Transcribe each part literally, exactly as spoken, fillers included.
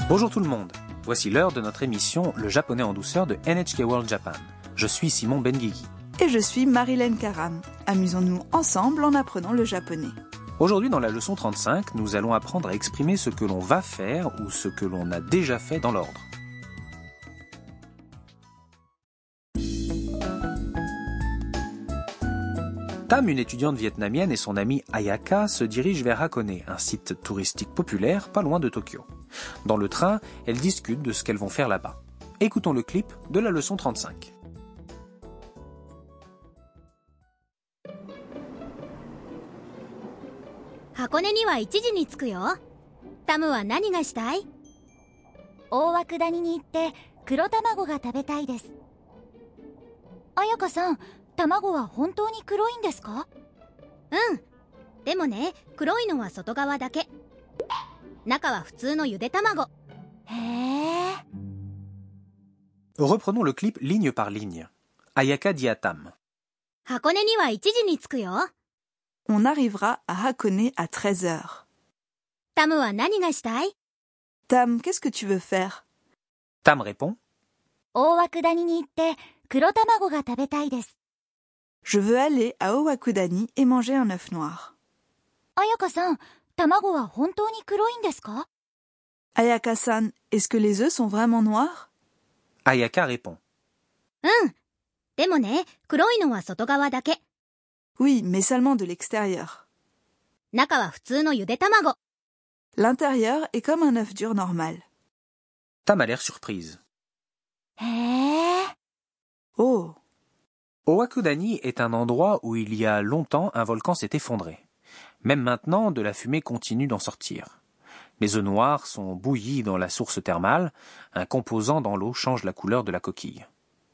Bonjour tout le monde, voici l'heure de notre émission Le japonais en douceur de N H K World Japan. Je suis Simon Benguigui. Et je suis Marilyn Karam. Amusons-nous ensemble en apprenant le japonais. Aujourd'hui dans la leçon trente-cinq, nous allons apprendre à exprimer ce que l'on va faire ou ce que l'on a déjà fait dans l'ordre. Tam, une étudiante vietnamienne, et son amie Ayaka se dirigent vers Hakone, un site touristique populaire pas loin de Tokyo. Dans le train, elles discutent de ce qu'elles vont faire là-bas. Écoutons le clip de la leçon trente-cinq. 箱根にはいちじに着くよ。タムは何がしたい？大涌谷に行って黒卵が食べたいです。彩香さん、卵は本当に黒いんですか？うん。でもね、黒いのは外側だけ。中は普通のゆで卵。へえ。 Reprenons le clip ligne par ligne. Ayaka dit à Tam. 箱根にはいちじに着くよ。 On arrivera à Hakone à treize heures. タムは何がしたい？ Tam, qu'est-ce que tu veux faire? Tam répond. 大涌谷に行って黒卵が食べたいです。 Je veux aller à Owakudani et manger un œuf noir. 彩香さん、卵は本当に黒いんですか？ Ayaka-san, est-ce que les œufs sont vraiment noirs? Ayaka répond. うん。でもね、黒いのは外側だけ。 Oui, mais seulement de l'extérieur. 中は普通のゆで卵。 L'intérieur est comme un œuf dur normal. Tam a l'air surprise. へえ。 Oh! Owakudani est un endroit où il y a longtemps un volcan s'est effondré. Même maintenant, de la fumée continue d'en sortir. Les œufs noirs sont bouillis dans la source thermale. Un composant dans l'eau change la couleur de la coquille.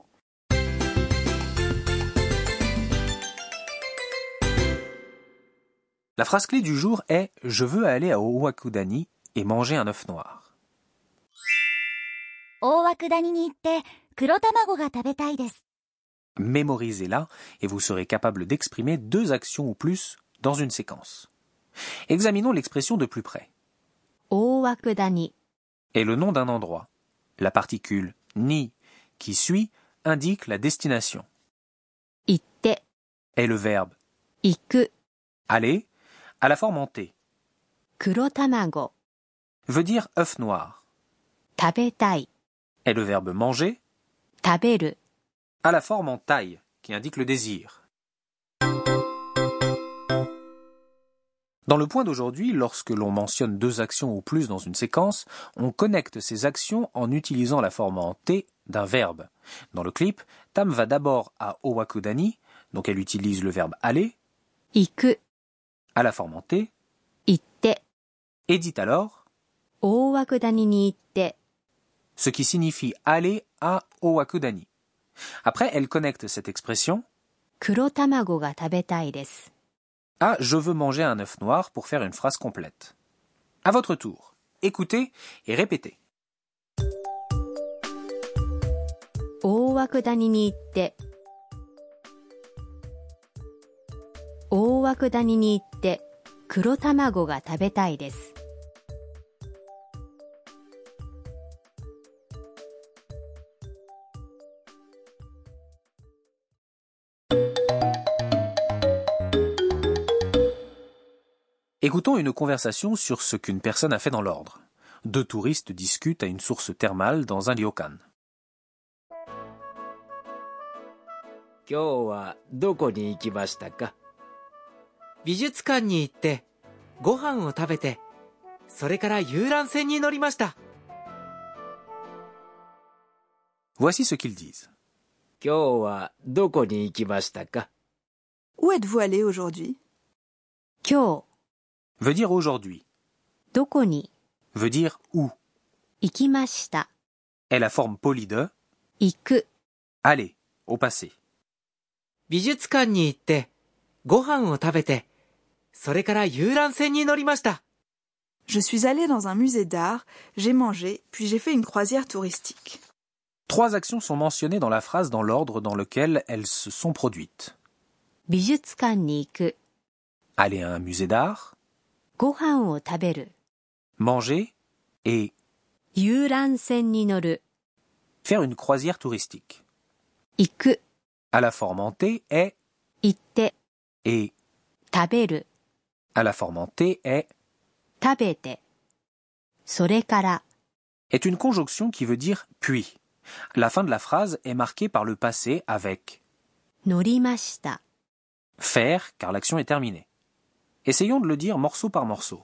La phrase clé du jour est « Je veux aller à Owakudani et manger un œuf noir ». 大涌谷に行って黒卵が食べたいです。 Mémorisez-la et vous serez capable d'exprimer deux actions ou plus dans une séquence. Examinons l'expression de plus près. 大涌谷 Est le nom d'un endroit. La particule « ni » qui suit indique la destination. 行って Est le verbe 行く aller à la forme en T. 黒卵 Veut dire œuf noir. 食べたい Est le verbe manger 食べる à la forme en taille qui indique le désir. Dans le point d'aujourd'hui, lorsque l'on mentionne deux actions ou plus dans une séquence, on connecte ces actions en utilisant la forme en T d'un verbe. Dans le clip, Tam va d'abord à Owakudani, donc elle utilise le verbe aller, 行く à la forme en T, 行って et dit alors 大涌谷に行って ce qui signifie aller à Owakudani. Après, elle connecte cette expression 黒卵が食べたいです。 à je veux manger un œuf noir pour faire une phrase complète. À votre tour, écoutez et répétez. 大涌谷に行って大涌谷に行って黒卵が食べたいです。 Écoutons une conversation sur ce qu'une personne a fait dans l'ordre. Deux touristes discutent à une source thermale dans un ryokan. 今日はどこに行きましたか？美術館に行ってご飯を食べて、それから遊覧船に乗りました。 Voici ce qu'ils disent. 今日はどこに行きましたか？ Où êtes-vous allé aujourd'hui? 今日 Veut dire aujourd'hui. どこに Veut dire où. 行きました。 Est la forme polie de 行く aller au passé. 美術館に行ってご飯を食べて、それから遊覧船に乗りました。 Je suis allé dans un musée d'art, j'ai mangé, puis j'ai fait une croisière touristique. Trois actions sont mentionnées dans la phrase dans l'ordre dans lequel elles se sont produites. 美術館に行く Aller à un musée d'art, ご飯を食べる manger et 遊覧船に乗る。 Faire une croisière touristique. 行く。 À la forme en T est 行って。 et 食べる。 à la forme en T est 食べて。それから。 est une conjonction qui veut dire puis. La fin de la phrase est marquée par le passé avec 乗りました。 faire car l'action est terminée. Essayons de le dire morceau par morceau.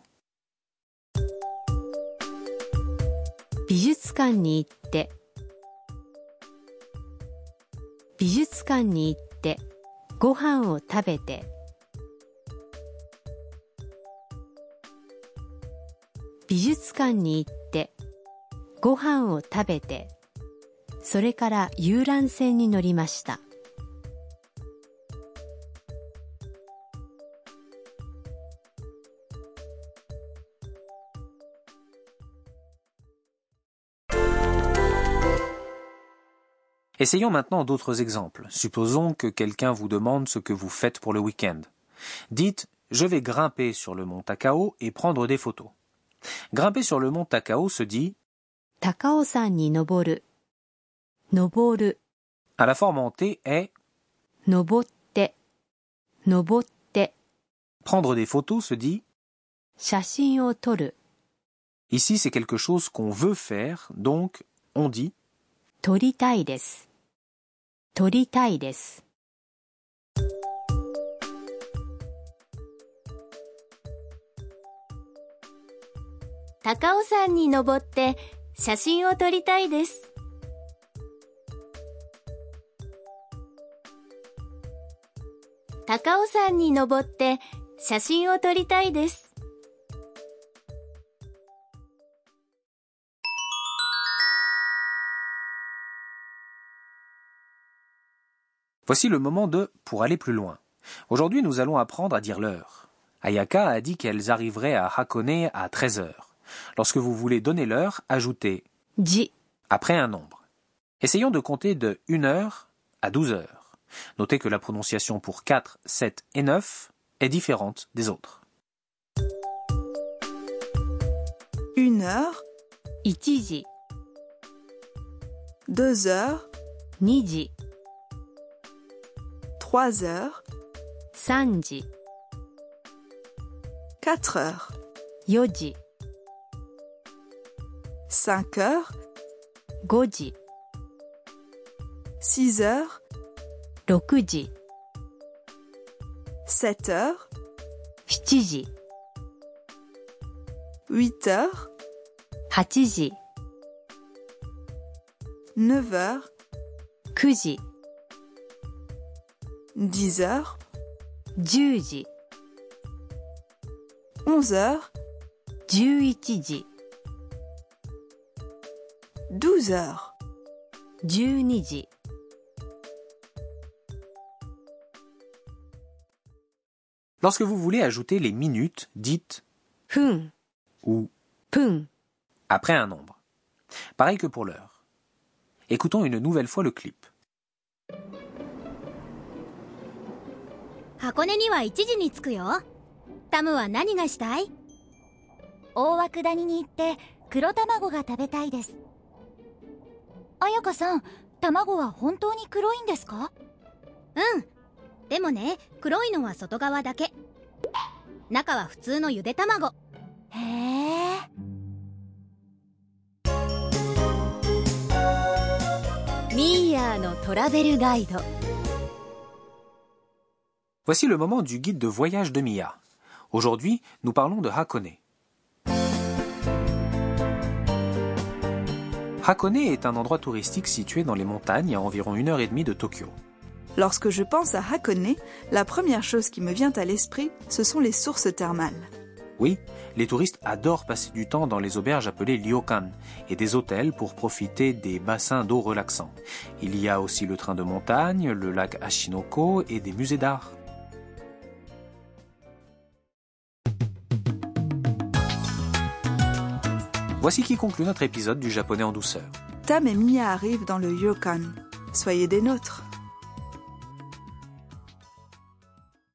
美術館に行って。美術館に行ってご飯を食べて。美術館に行ってご飯を食べてそれから遊覧船に乗りました。 Essayons maintenant d'autres exemples. Supposons que quelqu'un vous demande ce que vous faites pour le week-end. Dites « Je vais grimper sur le mont Takao et prendre des photos ». Grimper sur le mont Takao se dit « 高尾山に登る。登る。 à la forme en T est 登って。登って。 prendre des photos se dit 写真を撮る。 ici c'est quelque chose qu'on veut faire, donc on dit 撮りたいです。撮りたいです。 高尾山に登って写真を撮りたいです。高尾山に登って写真を撮りたいです。 Voici le moment de « pour aller plus loin ». Aujourd'hui, nous allons apprendre à dire l'heure. Ayaka a dit qu'elles arriveraient à Hakone à treize heures. Lorsque vous voulez donner l'heure, ajoutez « ji » après un nombre. Essayons de compter de une heure à douze heures. Notez que la prononciation pour quatre, sept et neuf est différente des autres. Une heure, いちじ、 deux heures, にじ、 trois heures, さんじ、 quatre heures, よじ、 cinq heures, ごじ、 six heures, ろくじ、 sept heures, しちじ、 huit heures, はちじ、 neuf heures, くじ、 dix heures, じゅうじ、 onze heures, じゅういちじ、 douze heures. じゅうにじ。 Lorsque vous voulez ajouter les minutes, dites 分、 ou 分、 après un nombre. Pareil que pour l'heure. Écoutons une nouvelle fois le clip. 箱根にはいちじに着くよ。タムは何がしたい？大涌谷に行って黒卵が食べたいです。彩香さん、卵は本当に黒いんですか？うん。でもね、黒いのは外側だけ。中は普通のゆで卵。へえ。ミーヤーのトラベルガイド。 Voici le moment du guide de voyage de Mia. Aujourd'hui, nous parlons de Hakone. Hakone est un endroit touristique situé dans les montagnes à environ une heure et demie de Tokyo. Lorsque je pense à Hakone, la première chose qui me vient à l'esprit, ce sont les sources thermales. Oui, les touristes adorent passer du temps dans les auberges appelées ryokan et des hôtels pour profiter des bassins d'eau relaxants. Il y a aussi le train de montagne, le lac Ashinoko et des musées d'art. Voici qui conclut notre épisode du japonais en douceur. Tam et Mia arrivent dans le ryokan. Soyez des nôtres.